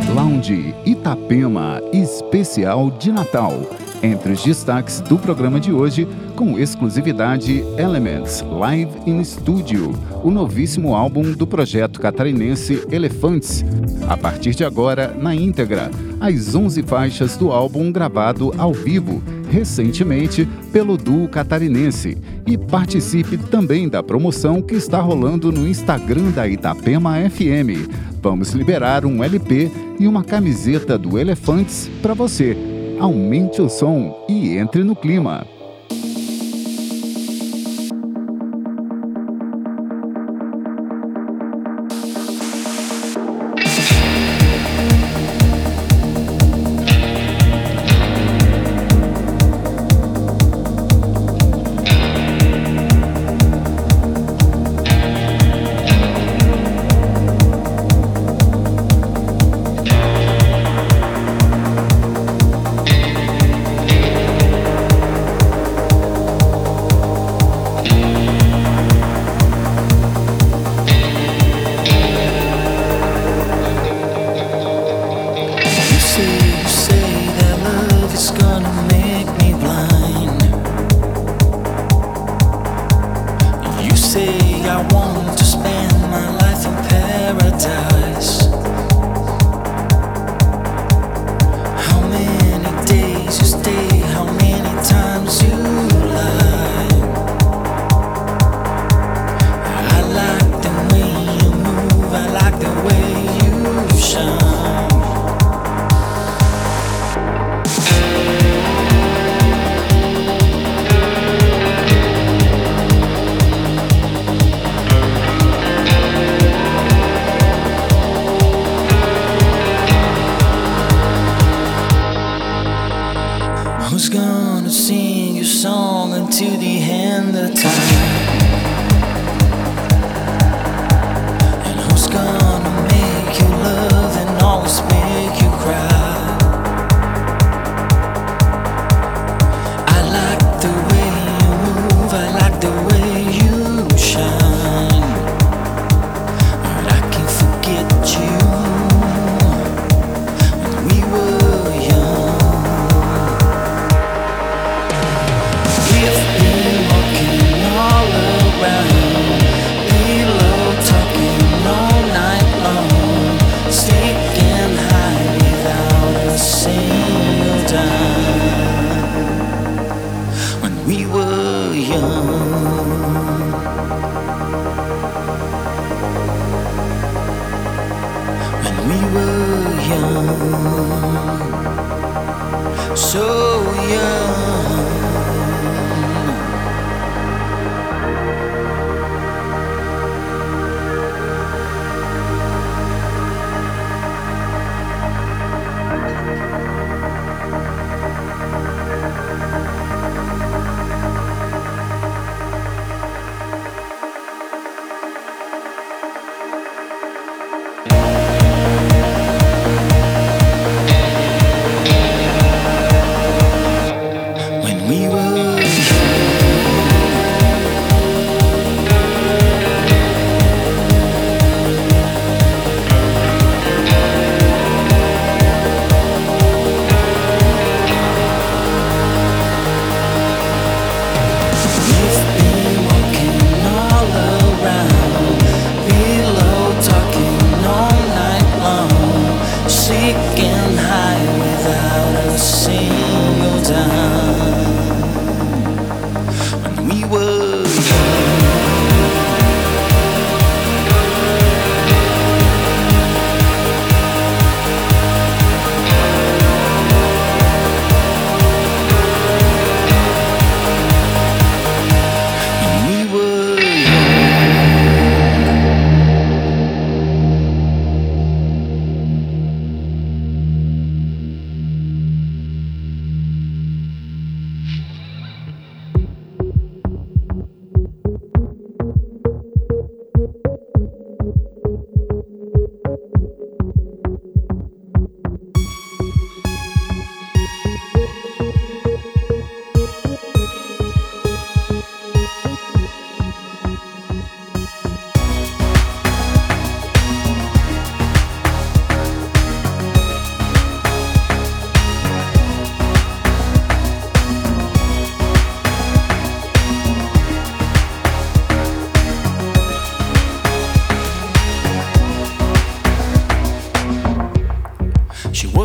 Lounge Itapema especial de Natal. Entre os destaques do programa de hoje, com exclusividade Elements Live in Studio, o novíssimo álbum do projeto catarinense Elefantes. A partir de agora, na íntegra, as 11 faixas do álbum gravado ao vivo, recentemente pelo duo catarinense. E participe também da promoção que está rolando no Instagram da Itapema FM. Vamos liberar um LP e uma camiseta do Elefantes para você. Aumente o som e entre no clima.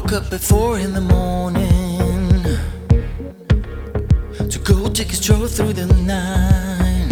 Woke up at 4 in the morning to go take a stroll through the night,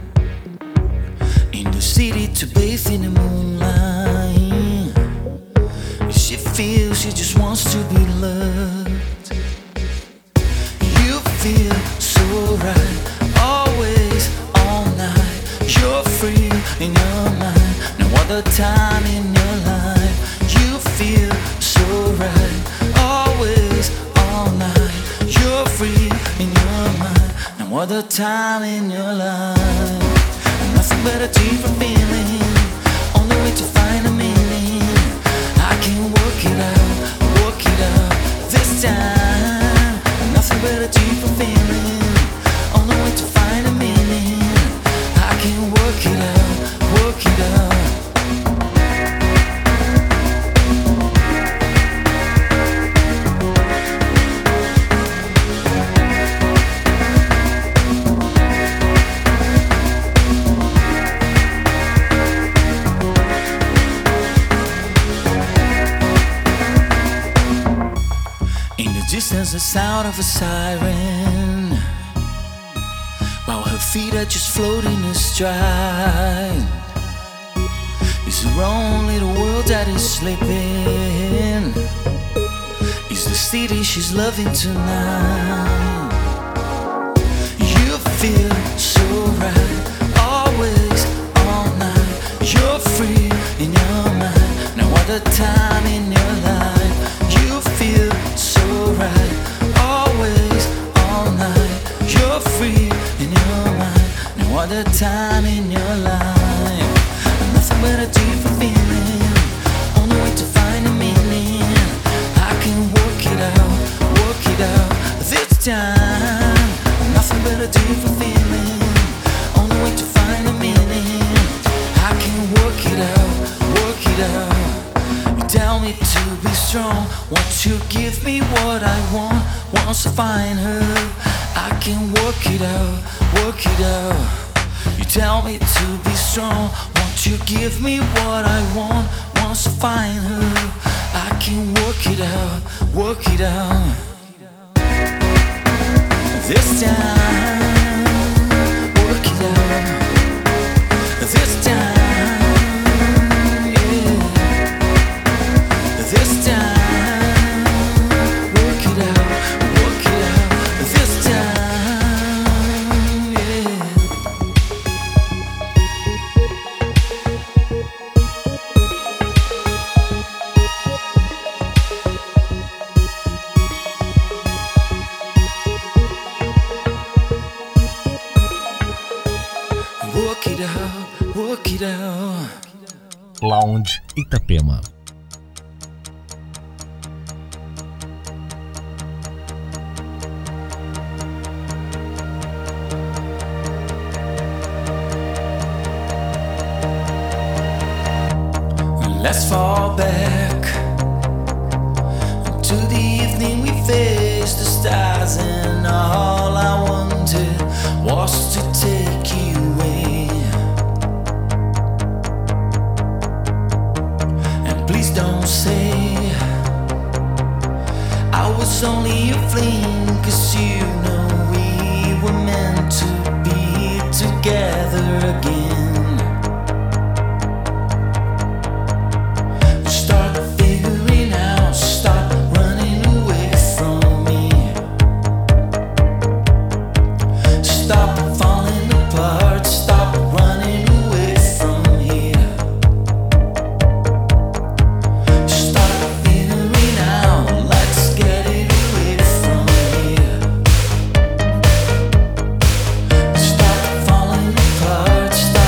in the city to bathe in the moonlight. She feels she just wants to be loved. You feel so right, always, all night. You're free in your mind, no other time in your life. You feel so right, always, all night. You're free in your mind, no other time in your life. Nothing but a deeper feeling, on the way to find a meaning. I can work it out this time. Nothing but a deeper feeling, on the way to find a meaning. I can work it out, work it out. Distance, the sound of a siren, while her feet are just floating astride. It's her own little world that is sleeping. It's the city she's loving tonight. You feel so right, always, all night. You're free in your mind, no other time in your life. You feel so right, always, all night. You're free in your mind, no other time in your life. Nothing but a deeper feeling, on the way to find a meaning. I can work it out this time. Nothing but a deeper feeling, on the way to find a meaning. I can work it out. You tell me to be strong, won't you give me what I want? Once I find her, I can work it out. You tell me to be strong, won't you give me what I want? Once I find her, I can work it out. This time, work it out. This time, yeah. This time, work it out. This time, yeah. Work it out. Lounge Itapema. Let's fall back to the evening we faced the stars, and all I wanted was to take you away. And please don't say I was only a fling, 'cause you know we were meant to be together again. Stop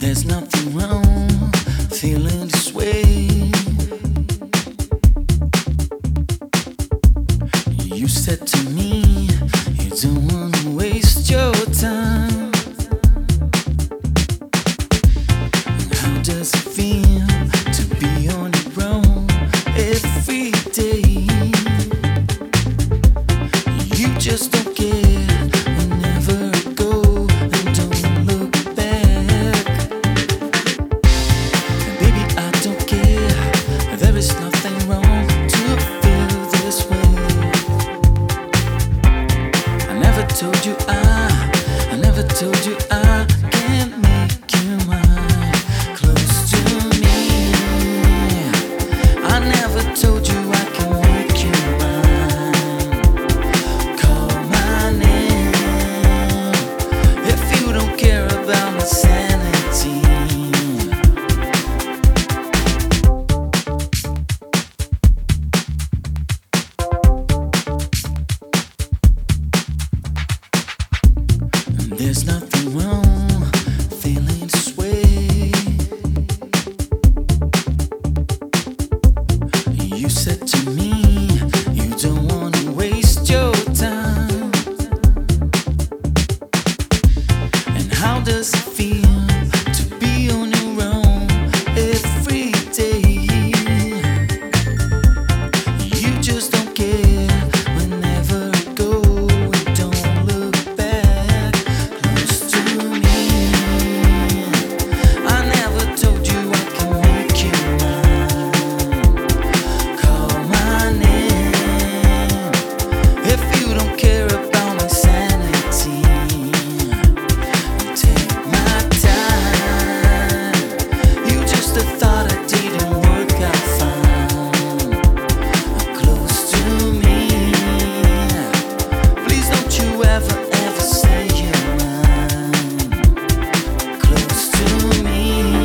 There's nothing wrong feeling this way. You said to me you don't wanna waste your time. How does it feel to be on your own every day? You just don't care whenever I go and don't look back. Baby, I don't care. There is nothing wrong to feel this way. I never told you I can't make you mine. Close to me. I never told you I can make you mine. Call my name if you don't care about my sanity. There's nothing wrong feeling this way. You said to me you don't wanna waste your time. And how does it feel to be on your own every day? You just don't care whenever I go and don't look back. Close to me. I never told you I can make you mine. Call my name if you don't care about my sanity. Take my time. You just a thought I didn't work out fine. Close to me. Please don't you ever say you're mine. Close to me.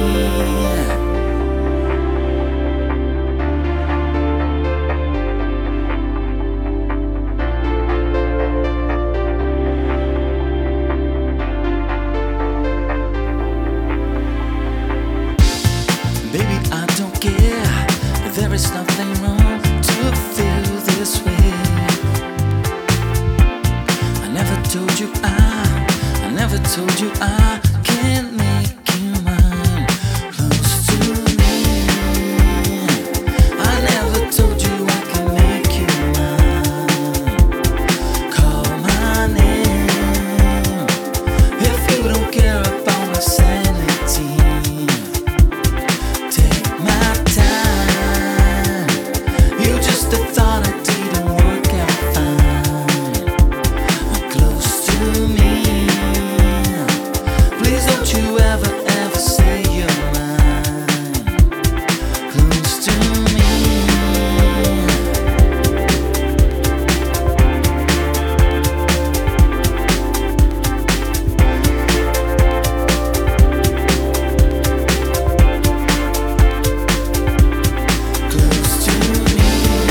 Baby, I don't care. There is nothing wrong to feel this way. I never told you I can't make you mine. Close to me. I never told you I can make you mine. Call my name if you don't care about my sanity. Take my time. You just a thought I didn't work out fine. Close to me. Please don't you ever say you're mine. Close to me. Close to me.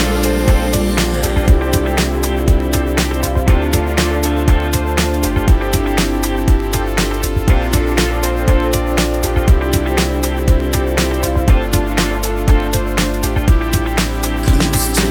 Close to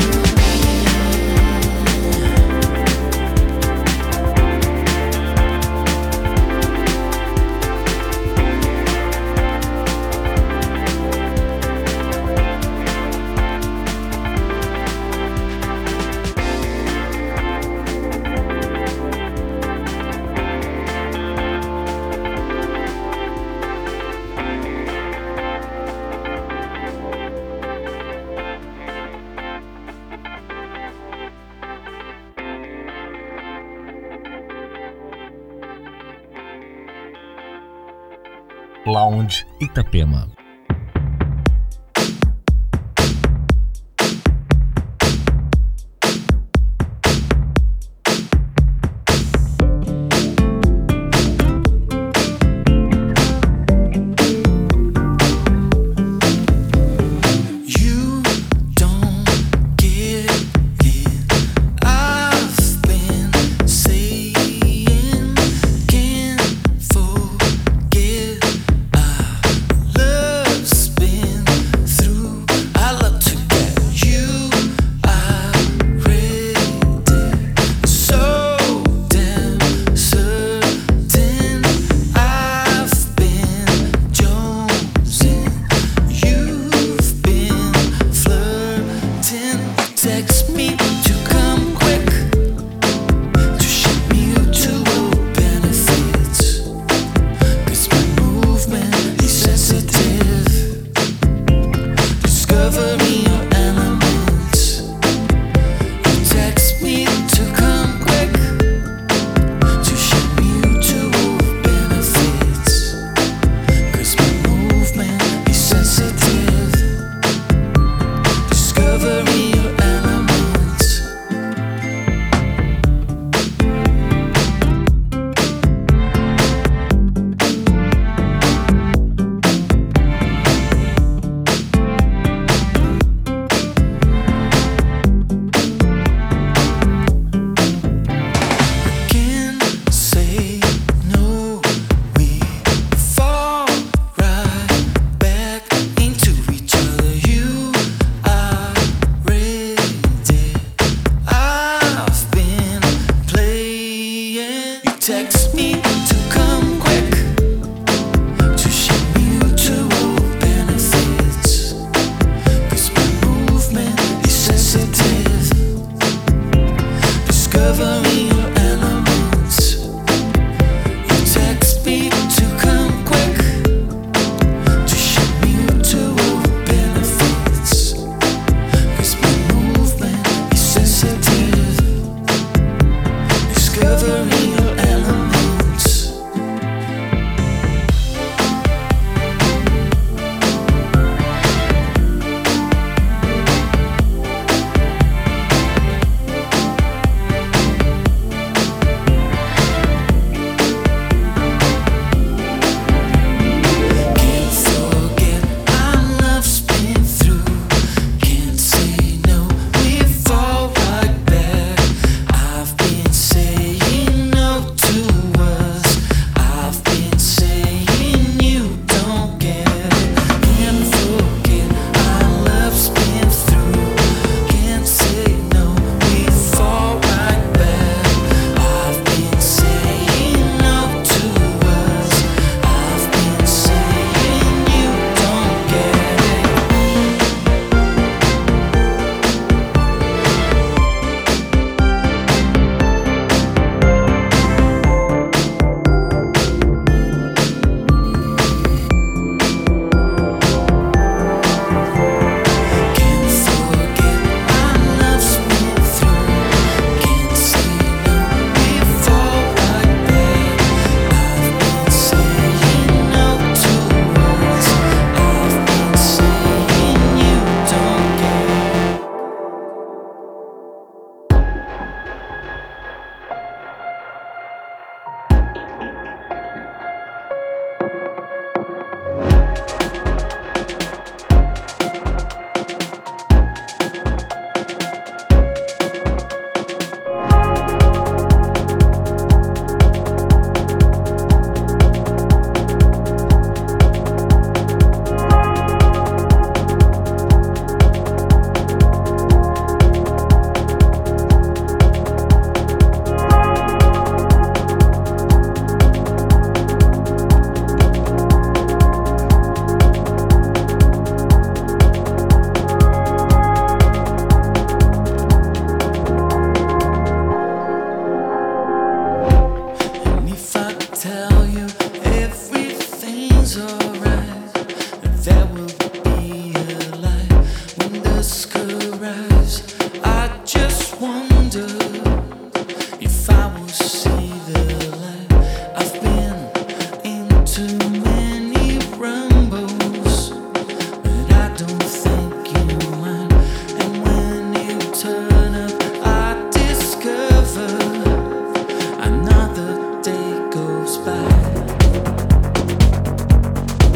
Lounge Itapema. You don't get it. I've been saying can't forget. I text me to come quick to share mutual benefits. 'Cause my movement is sensitive, discovering your elements. You text me to come quick to share mutual benefits. 'Cause my movement is sensitive, discovering your elements. Can't forget our love's been through. Can't say no, we fall right back. I've been saying no to us. I've been saying you don't get it. Can't forget our love's been through. Can't say no, we fall right back. I've been saying no to us. I've been saying you don't get it. Can't forget our love's been through. Can't say no, we fall right back. I've been saying no to us. I've been saying you don't get it. And if I tell you everything's alright, there will be a light when dusk arrives. I just wonder if I will see the light. I've been into many rumbles, but I don't think you mind. And when you turn up, I discover another day goes by.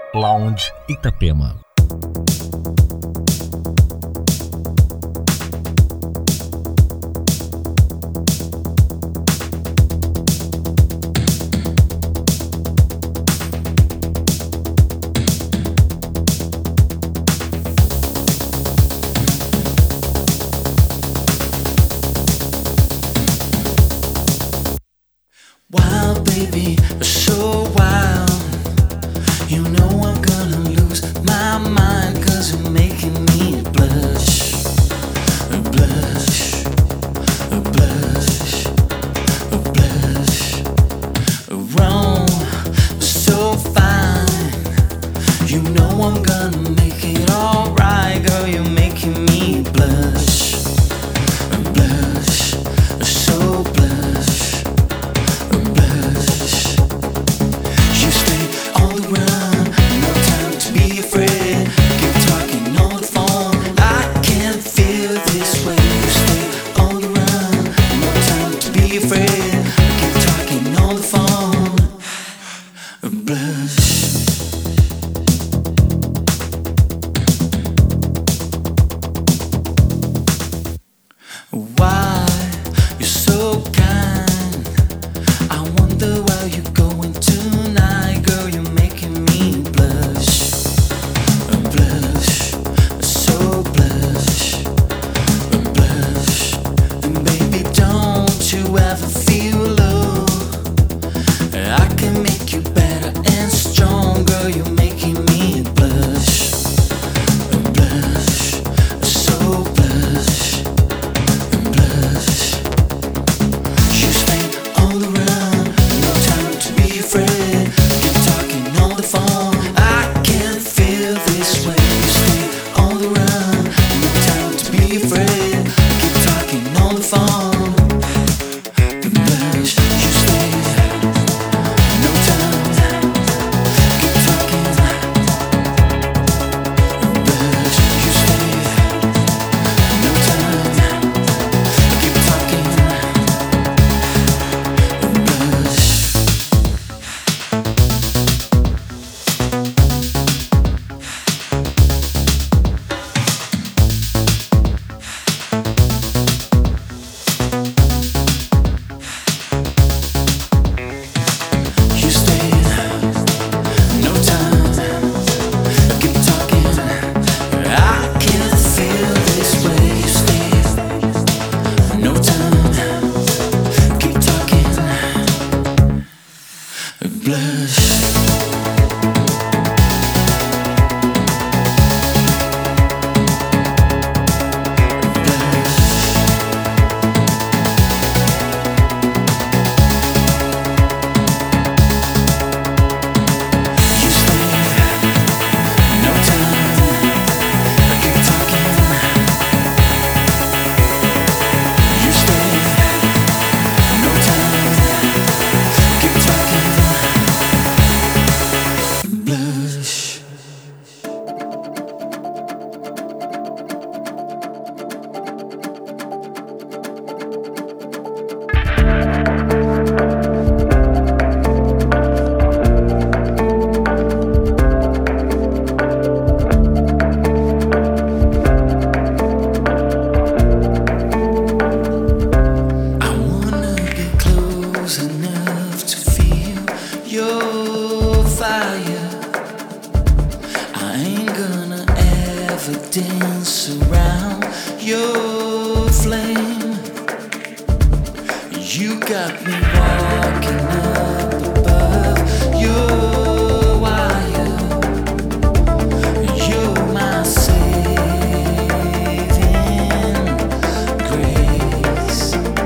Lounge Itapema. Wild baby, so wild. You know I'm gonna lose my mind, 'cause you're making me blush, blush, blush, blush. Wrong, so fine. You know I'm gonna make it alright, girl. You're making me blush, blush, so blush. You stay on the run, no time to be afraid. Keep talking on the phone, I can feel this way. You stay on the run, no time to be afraid. Keep talking on the phone. Blush. Why you're so kind? I wonder where you're going tonight, girl. You're making me blush, blush, so blush, blush. And baby, don't you ever feel low? I can make you better and stronger. You're making me blush, blush, so blush, blush. You stay on the run, no time to be afraid. Keep talking on the phone, I can feel this way. You stay on the run, no time to be afraid. Keep talking on the phone. Blush. You stay, no time. Keep talking. Blush. You stay, no time. Keep talking. Blush. You stay, no time. Keep talking. I can feel this way. You stay, no time. Keep talking. Blush. You stay, no time. Keep talking. You stay, no time. Keep talking. Blush. I wanna get close enough to feel your fire. I ain't gonna ever dance around your flame. You got me walking up above your wire. You're my saving grace.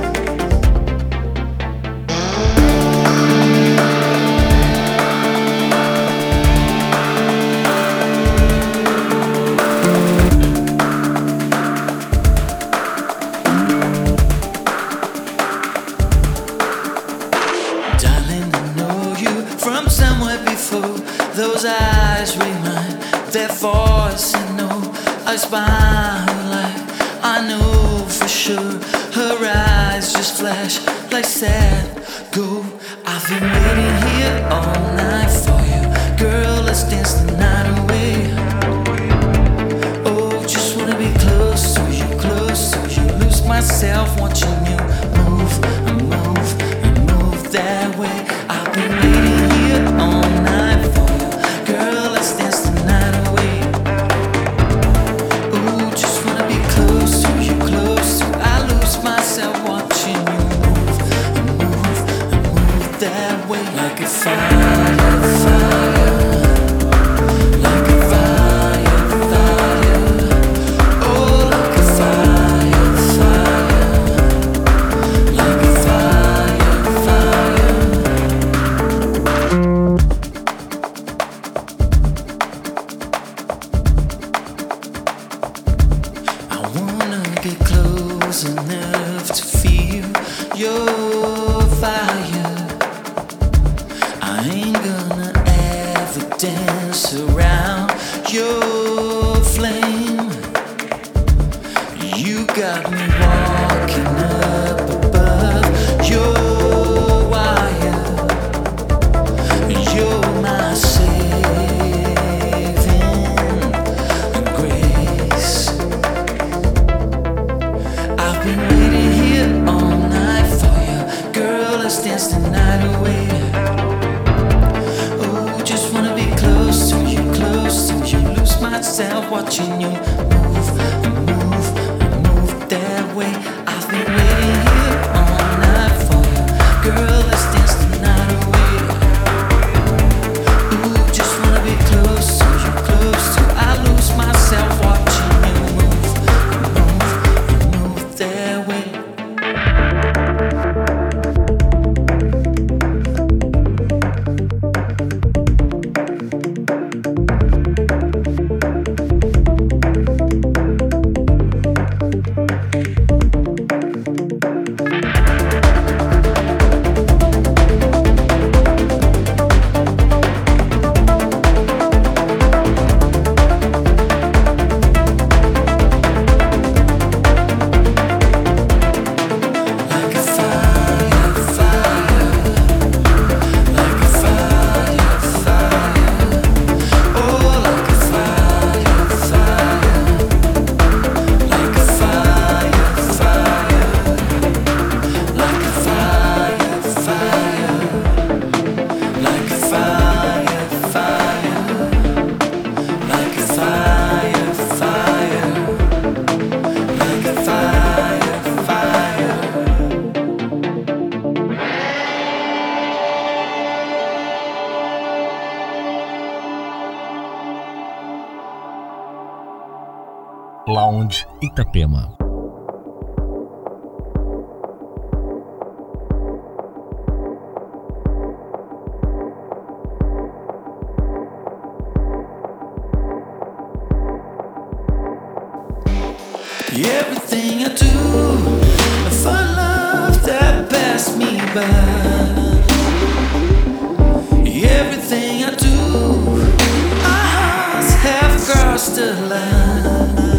Darling, I know you from somewhere before. Those eyes remind their voice. I know I spy her light. I know for sure her eyes just flash like sad gold. I've been waiting here all night for you, girl. Let's Lounge Itapema. Everything I do for love that passed me by. Everything I do, our hearts have crossed the line.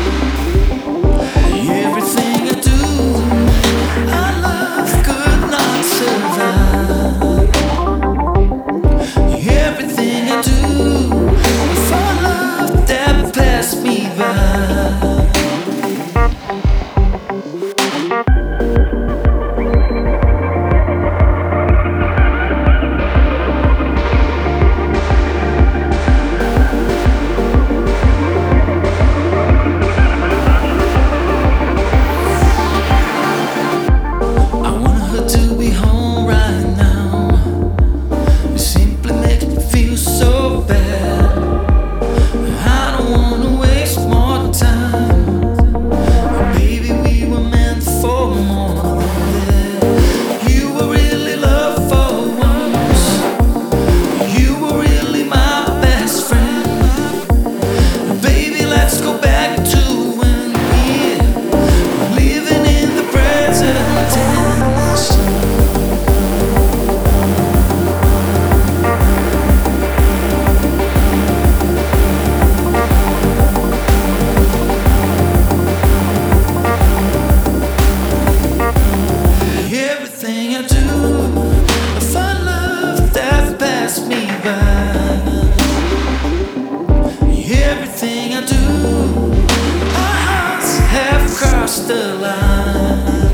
Everything I do, our love could not survive. Everything I do for love that passed me by. cross the line.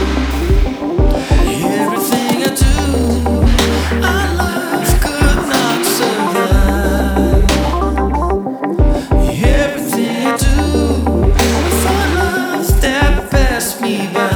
Everything I do, our love could not survive. Everything I do for love that passed me by.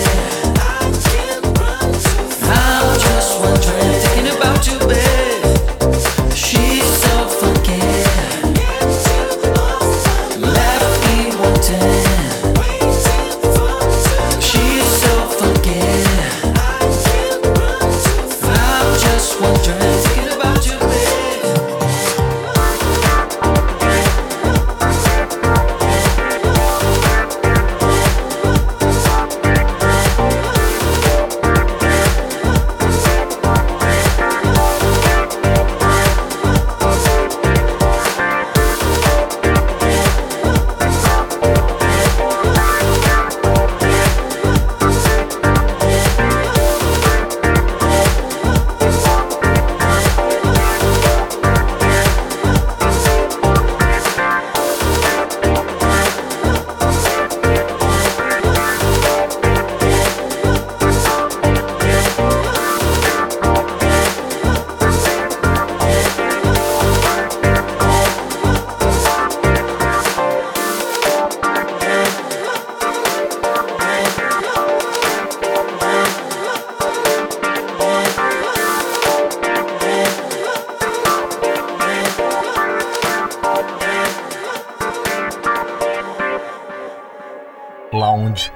Thinking about you, babe.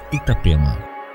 Itapema.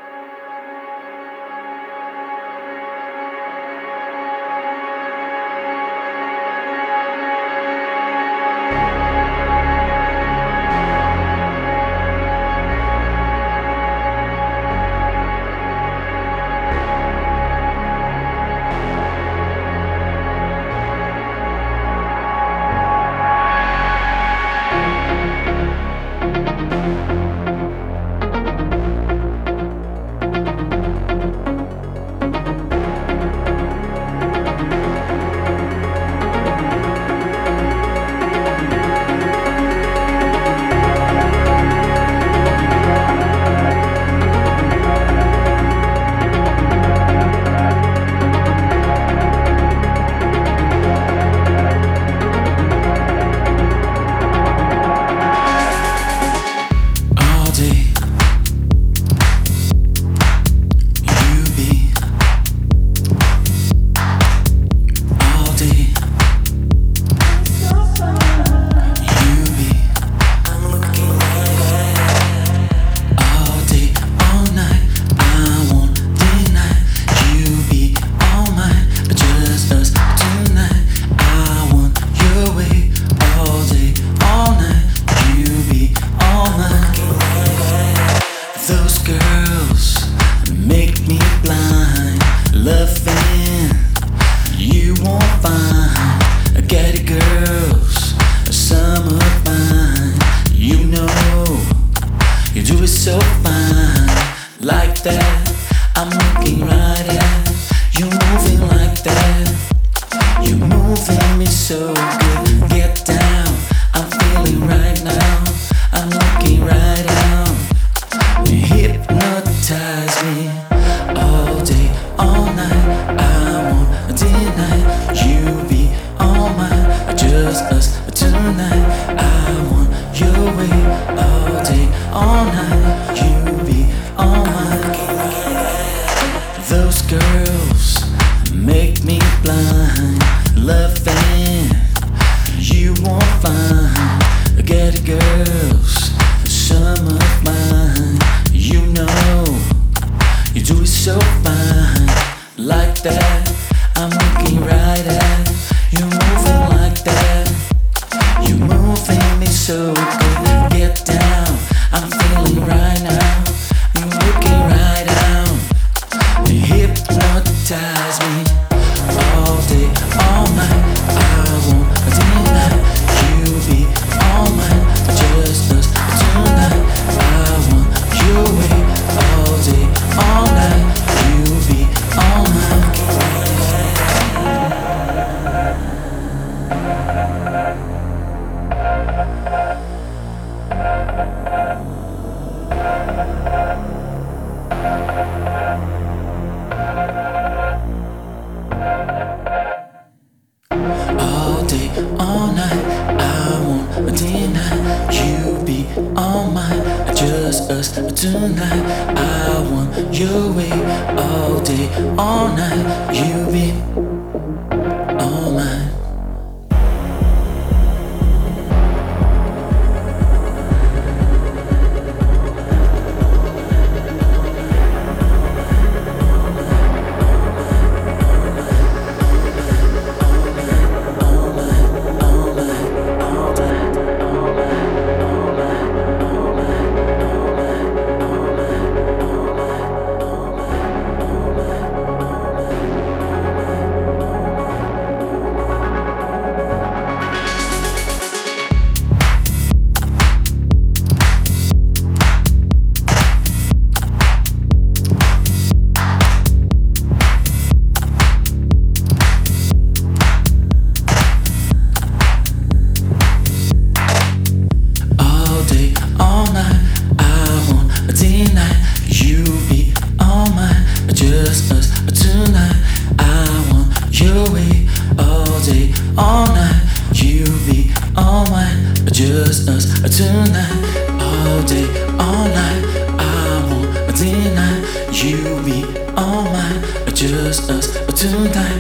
just us tonight.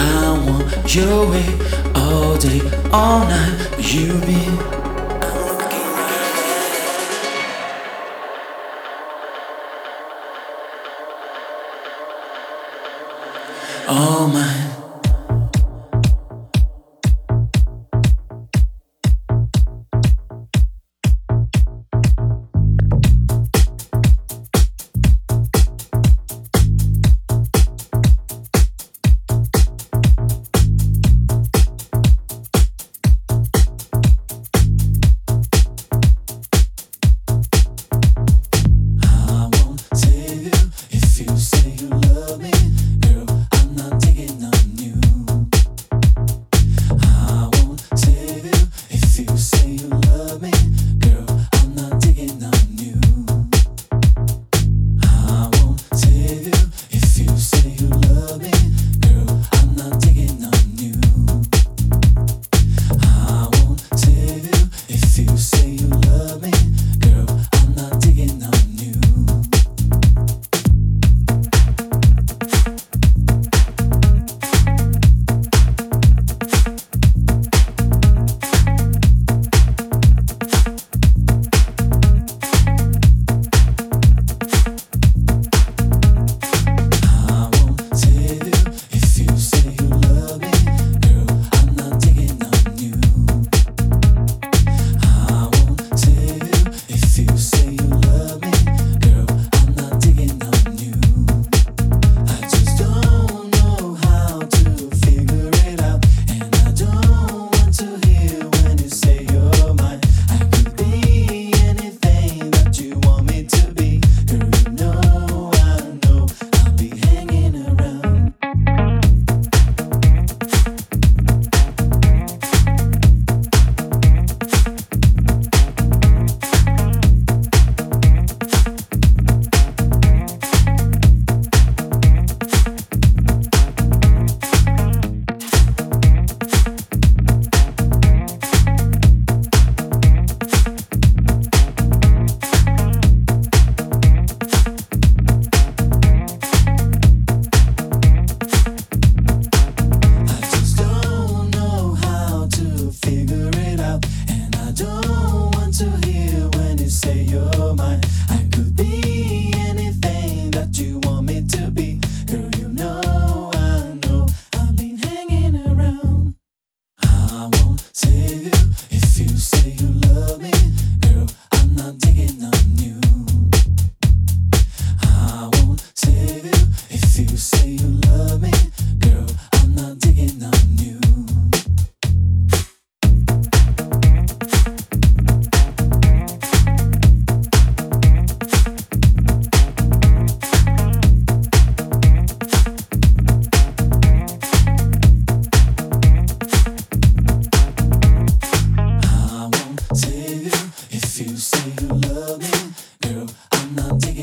I want your way all day, all night. You be all mine.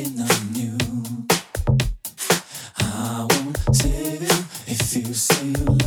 If you say you love